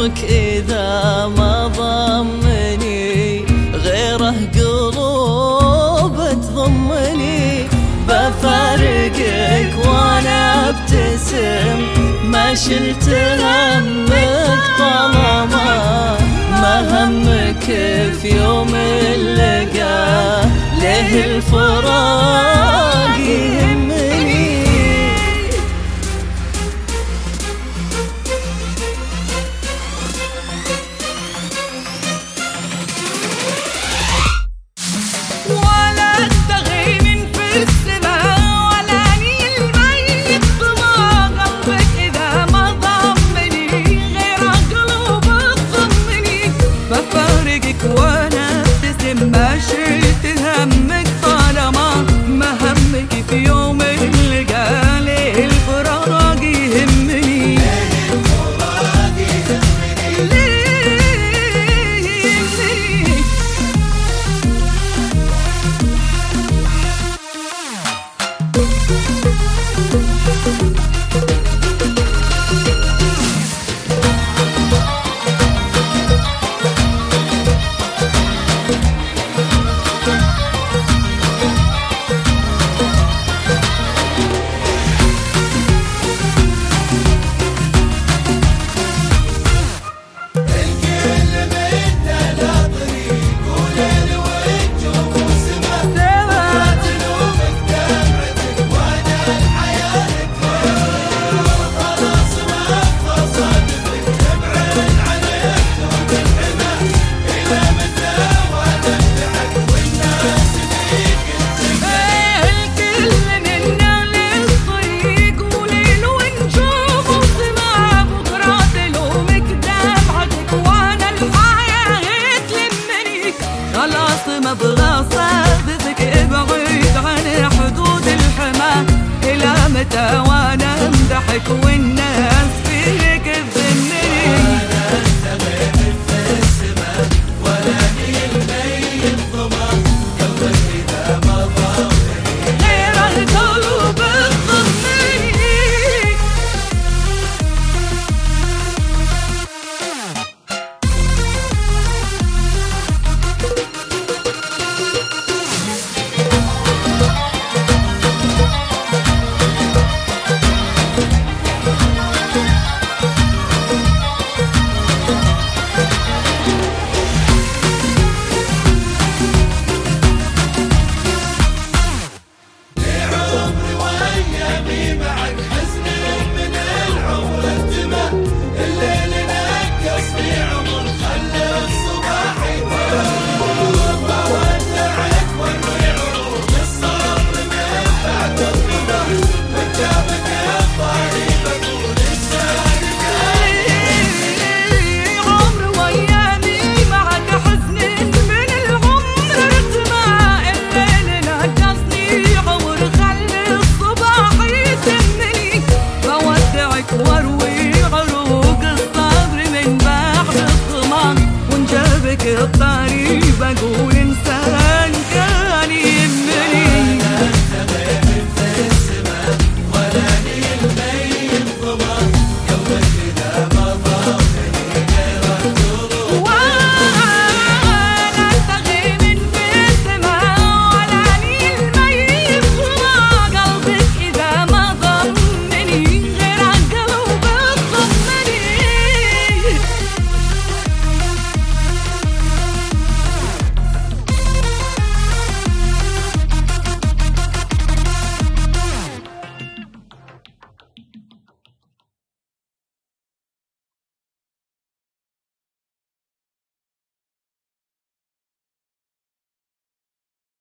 قلبك إذا ما ضمني، غيره قلوب تضمني. بفارقك وانا ابتسم، ما شلت همك طالما ما همك في يوم اللقاء. ليه الفراق يهمني؟ ولا التغي من في السماء، ولا اني الميت بما قلبك اذا ما ضمني، غير قلوب تضمني. بفارقك وانا ابتسم، ما شلت همك طالما ما همك في يوم اللقاء. ليه الفراق يهمني؟ ابغى صادقك ابعد عن حدود الحما. الى متى وانا امدحك والناس